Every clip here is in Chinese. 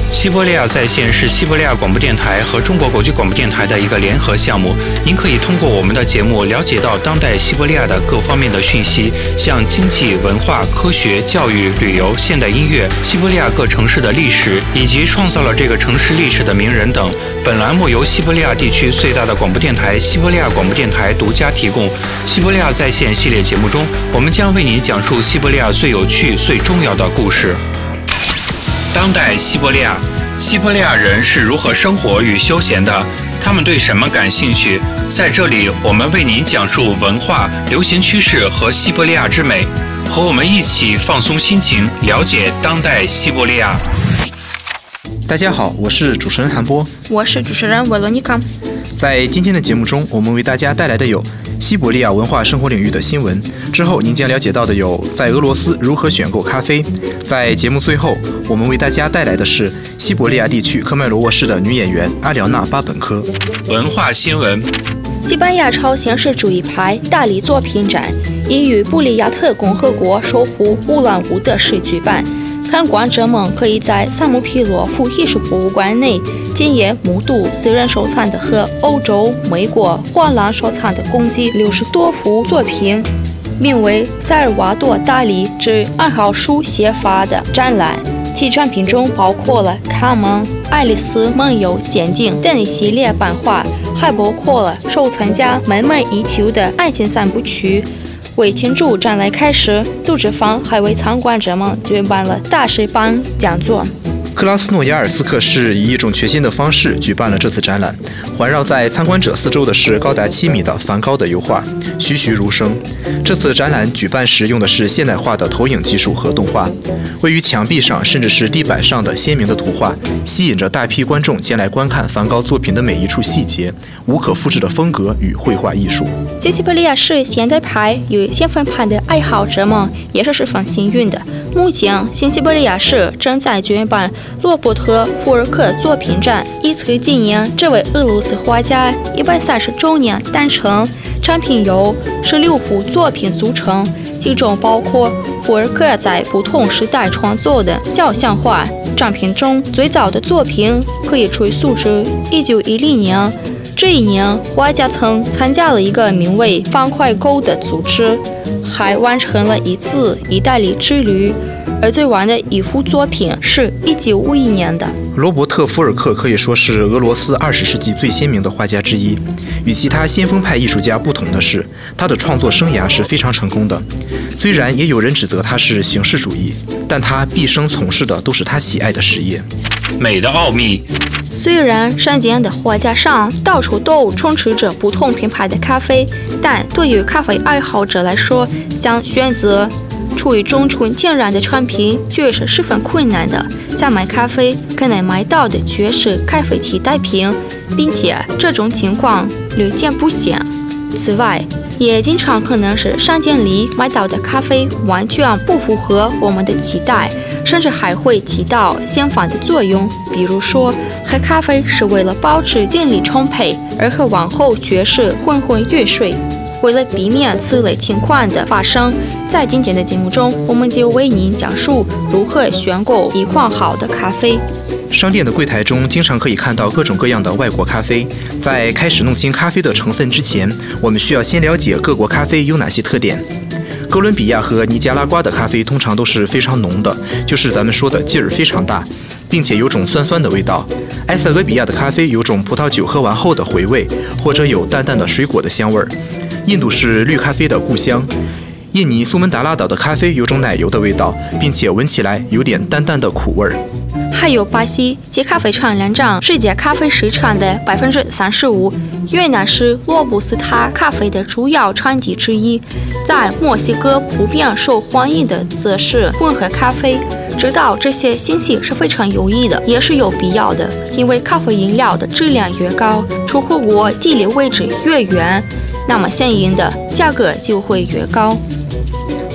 西伯利亚在线是西伯利亚广播电台和中国国际广播电台的一个联合项目。您可以通过我们的节目了解到当代西伯利亚的各方面的讯息，像经济、文化、科学、教育、旅游、现代音乐、西伯利亚各城市的历史，以及创造了这个城市历史的名人等。本栏目由西伯利亚地区最大的广播电台西伯利亚广播电台独家提供。西伯利亚在线系列节目中，我们将为您讲述西伯利亚最有趣、最重要的故事。当代西伯利亚，西伯利亚人是如何生活与休闲的？他们对什么感兴趣？在这里，我们为您讲述文化、流行趋势和西伯利亚之美。和我们一起放松心情，了解当代西伯利亚。 大家好，我是主持人韩波， 我是主持人维罗妮卡。 在今天的节目中，我们为大家带来的有西伯利亚文化生活领域的新闻。之后您将了解到的有在俄罗斯如何选购咖啡。在节目最后，我们为大家带来的是西伯利亚地区科迈罗沃市的女演员阿廖娜·巴本科。 文化新闻： 西班牙超现实主义派大理作品展已于布里亚特共和国首府乌兰乌德市举办。参观者们可以在萨姆皮洛夫艺术博物馆内亲眼目睹私人收藏的和欧洲、美国、荷兰收藏的共计60多幅作品，名为萨尔瓦多·达利之爱好书写法的展览。其展品中包括了卡门、爱丽丝梦游仙境等一系列版画，还包括了收藏家梦寐以求的爱情三部曲。为庆祝展览开始，组织方还为参观者们举办了大师班讲座。 克拉斯诺亚尔斯克市以一种全新的方式举办了这次展览。环绕在参观者四周的是高达7米的梵高的油画，栩栩如生。这次展览举办时用的是现代化的投影技术和动画，位于墙壁上甚至是地板上的鲜明的图画，吸引着大批观众前来观看梵高作品的每一处细节，无可复制的风格与绘画艺术。 西伯利亚市现代派与先锋派的爱好者们也是十分幸运的。目前，新西伯利亚市正在举办罗伯特·福尔克作品展，以此纪念这位俄罗斯画家130周年诞辰。展品由16部作品组成，其中包括福尔克在不同时代创作的肖像画。展品中最早的作品可以追溯至1910年。这一年，画家曾参加了一个名为“方块沟”的组织，还完成了一次意大利之旅。而最晚的一幅作品是1951年的。 罗伯特·福尔克可以说是俄罗斯20世纪最鲜明的画家之一。与其他先锋派艺术家不同的是，他的创作生涯是非常成功的。虽然也有人指责他是形式主义，但他毕生从事的都是他喜爱的事业。 美的奥秘。 虽然山间的画架上到处都充斥着不同品牌的咖啡，但对于咖啡爱好者来说，想选择出于中纯天然的产品却是十分困难的。想买咖啡，可能买到的却是咖啡替代品，并且这种情况屡见不鲜。此外，也经常可能是商店里买到的咖啡完全不符合我们的期待，甚至还会起到相反的作用。比如说，喝咖啡是为了保持精力充沛，而喝完后却是昏昏欲睡。为了避免此类情况的发生，在今天的节目中，我们就为您讲述如何选购一款好的咖啡。 商店的柜台中经常可以看到各种各样的外国咖啡。在开始弄清咖啡的成分之前，我们需要先了解各国咖啡有哪些特点。哥伦比亚和尼加拉瓜的咖啡通常都是非常浓的，就是咱们说的劲儿非常大，并且有种酸酸的味道。埃塞俄比亚的咖啡有种葡萄酒喝完后的回味，或者有淡淡的水果的香味儿。印度是绿咖啡的故乡。印尼苏门答腊岛的咖啡有种奶油的味道，并且闻起来有点淡淡的苦味儿。 还有巴西，其咖啡产量占世界咖啡市场的35%，越南是罗布斯塔咖啡的主要产地之一。在墨西哥普遍受欢迎的则是混合咖啡。知道这些信息是非常有益的，也是有必要的，因为咖啡饮料的质量越高，出口国地理位置越远，那么相应的价格就会越高。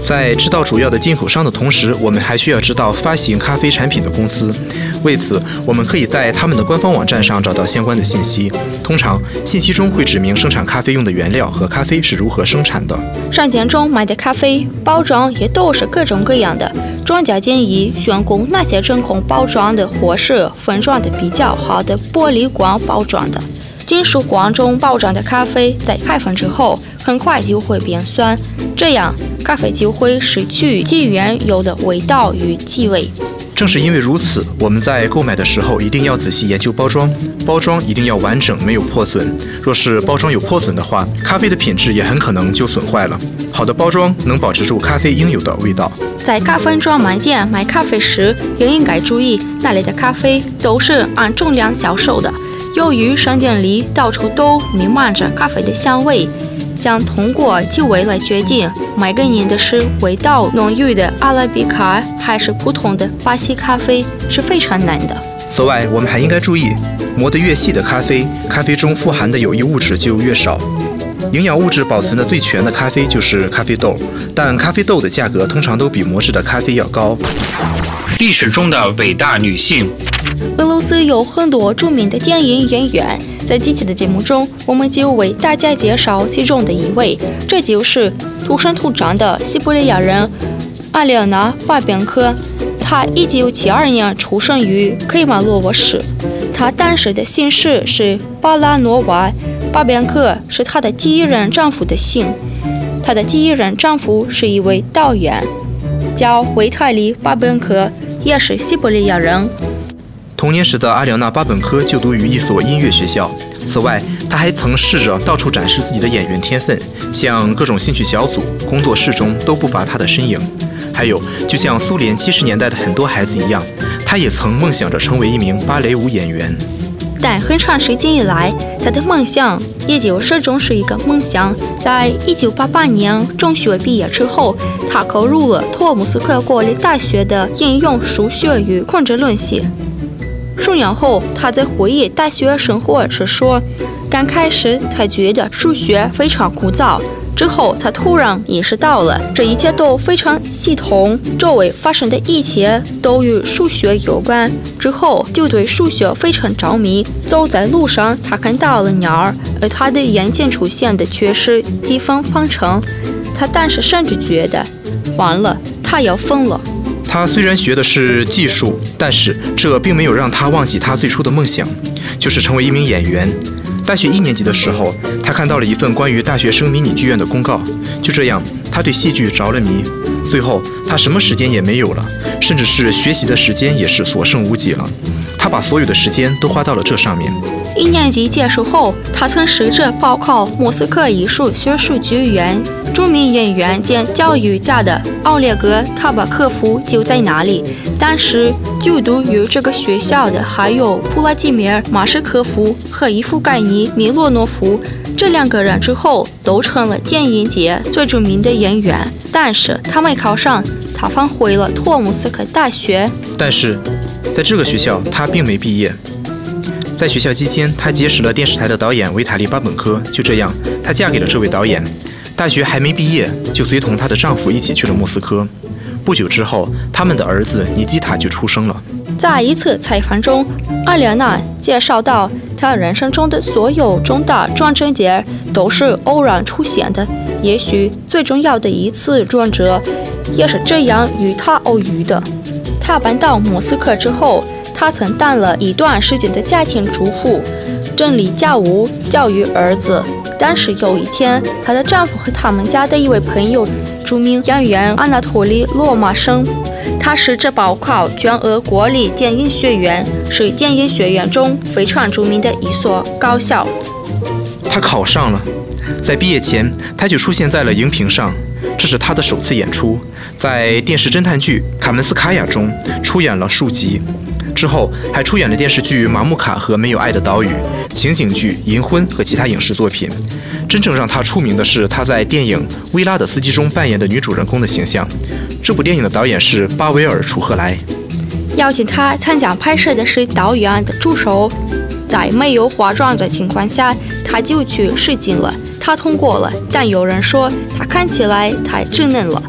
在知道主要的进口商的同时，我们还需要知道发行咖啡产品的公司。为此，我们可以在他们的官方网站上找到相关的信息。通常，信息中会指明生产咖啡用的原料和咖啡是如何生产的。 商店中买的咖啡包装也都是各种各样的。专家建议选购那些真空包装的或是分装的比较好的玻璃罐包装的。金属罐中包装的咖啡在开封之后很快就会变酸，这样咖啡就会失去其原有的味道与气味。 正是因为如此，我们在购买的时候一定要仔细研究包装，包装一定要完整，没有破损。若是包装有破损的话，咖啡的品质也很可能就损坏了。好的包装能保持住咖啡应有的味道。 在咖啡专卖店买咖啡时，也应该注意那里的咖啡都是按重量销售的。由于商店里到处都弥漫着咖啡的香味，想通过气味来决定买给您的是味道浓郁的阿拉比卡还是普通的巴西咖啡是非常难的。 此外，我们还应该注意，磨得越细的咖啡，咖啡中富含的有益物质就越少。营养物质保存的最全的咖啡就是咖啡豆，但咖啡豆的价格通常都比磨制的咖啡要高。 历史中的伟大女性。 俄罗斯有很多著名的电影演员，在这期的节目中，我们就为大家介绍其中的一位，这就是土生土长的西伯利亚人阿列娜·巴边科。她1972年出生于克马洛沃市，她当时的姓氏是巴拉诺娃，巴边科是她的第一任丈夫的姓。她的第一任丈夫是一位导演，叫维泰利·巴边科，也是西伯利亚人。 童年时的阿廖娜·巴本科就读于一所音乐学校。此外，她还曾试着到处展示自己的演员天分，像各种兴趣小组、工作室中都不乏她的身影。还有，就像苏联70年代的很多孩子一样，她也曾梦想着成为一名芭蕾舞演员。 但很长时间以来，她的梦想也就始终是一个梦想。在1988年中学毕业之后，她考入了托木斯克国立大学的应用数学与控制论系。数年后，他在回忆大学生活时说，刚开始他觉得数学非常枯燥，之后他突然意识到了这一切都非常系统，周围发生的一切都与数学有关，之后就对数学非常着迷。走在路上，他看到了鸟儿，而他的眼前出现的却是几何方程。他当时甚至觉得完了，他要疯了。 他虽然学的是技术，但是这并没有让他忘记他最初的梦想，就是成为一名演员。大学1年级的时候，他看到了一份关于大学生迷你剧院的公告，就这样，他对戏剧着了迷。最后，他什么时间也没有了，甚至是学习的时间也是所剩无几了。他把所有的时间都花到了这上面。 1年级结束后，他曾试着报考莫斯科艺术学术剧院。著名演员兼教育家的奥列格·塔巴科夫就在那里。当时就读于这个学校的还有弗拉基米尔·马什科夫和伊夫盖尼·米洛诺夫。这2个人之后都成了电影界最著名的演员，但是他没考上，他返回了托木斯克大学。 但是在这个学校，他并没毕业。在学校期间，他结识了电视台的导演维塔利·巴本科，就这样，她嫁给了这位导演。大学还没毕业，就随同她的丈夫一起去了莫斯科。不久之后，他们的儿子尼基塔就出生了。 在一次采访中，阿列娜介绍到，她人生中的所有重大转折点都是偶然出现的，也许最重要的一次转折也是这样与她偶遇的。她搬到莫斯科之后，她曾当了一段时间的家庭主妇，整理家务，教育儿子。但是有一天，她的丈夫和他们家的一位朋友，著名演员安纳托利·罗马生，他试着报考全俄国立电影学院，是电影学院中非常著名的一所高校。 他考上了，在毕业前，他就出现在了荧屏上，这是他的首次演出，在电视侦探剧《卡门斯卡娅》中出演了数集。之后还出演了电视剧《马木卡和没有爱的岛屿》、情景剧《银婚》和其他影视作品。真正让她出名的是她在电影《薇拉的司机》中扮演的女主人公的形象。这部电影的导演是巴维尔·楚赫莱。 邀请她参加拍摄的是导演的助手，在没有化妆的情况下，她就去试镜了。她通过了，但有人说她看起来太稚嫩了。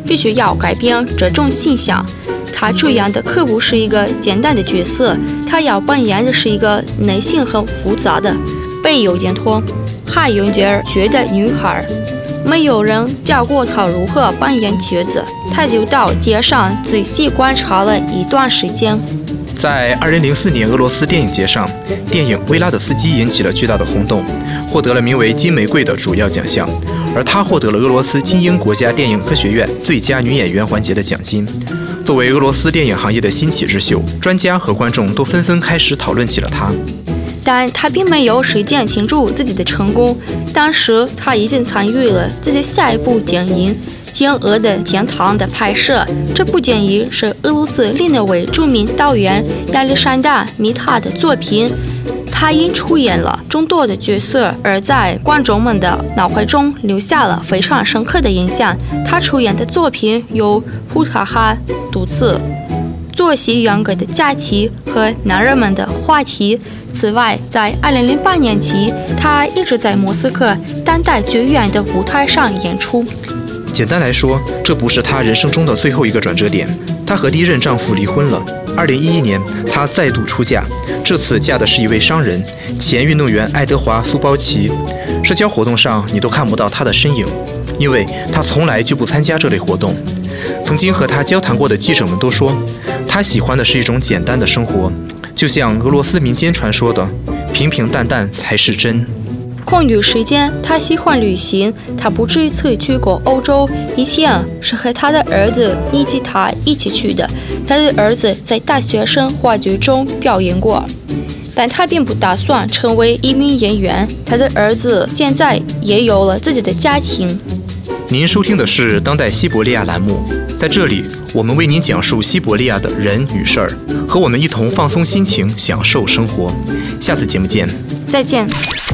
必须要改变这种现象。他主演的可不是一个简单的角色，他要扮演的是一个内心很复杂的、被有点痛还有点倔的女孩。没有人教过他如何扮演角色，他就到街上仔细观察了一段时间。 在2004年俄罗斯电影节上，电影《维拉德斯基》引起了巨大的轰动，获得了名为金玫瑰的主要奖项，而她获得了俄罗斯精英国家电影科学院最佳女演员环节的奖金。作为俄罗斯电影行业的新起之秀，专家和观众都纷纷开始讨论起了她。 但他并没有时间庆祝自己的成功，当时他已经参与了自己下一部电影《天鹅的天堂》的拍摄。这部电影是俄罗斯另一位著名导演亚历山大·米塔的作品，他因出演了众多的角色而在观众们的脑海中留下了非常深刻的印象。他出演的作品有《普塔哈独自》、作息严格的假期和男人们的话题。此外，在2008年起，他一直在莫斯科当代剧院的舞台上演出。 简单来说，这不是她人生中的最后一个转折点。她和第一任丈夫离婚了。2011年，她再度出嫁，这次嫁的是一位商人，前运动员爱德华·苏包奇。社交活动上你都看不到她的身影，因为她从来就不参加这类活动。曾经和她交谈过的记者们都说，她喜欢的是一种简单的生活，就像俄罗斯民间传说的平平淡淡才是真。 空余时间，他喜欢旅行。他不止一次去过欧洲，以前是和他的儿子尼基塔一起去的。他的儿子在大学生话剧中表演过，但他并不打算成为一名演员。他的儿子现在也有了自己的家庭。 您收听的是当代西伯利亚栏目，在这里我们为您讲述西伯利亚的人与事儿，和我们一同放松心情，享受生活。下次节目见， 再见。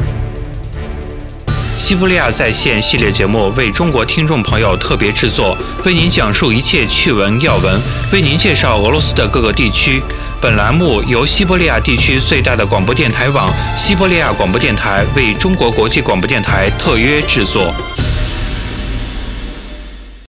西伯利亚在线系列节目为中国听众朋友特别制作，为您讲述一切趣闻要闻，为您介绍俄罗斯的各个地区。本栏目由西伯利亚地区最大的广播电台网西伯利亚广播电台为中国国际广播电台特约制作。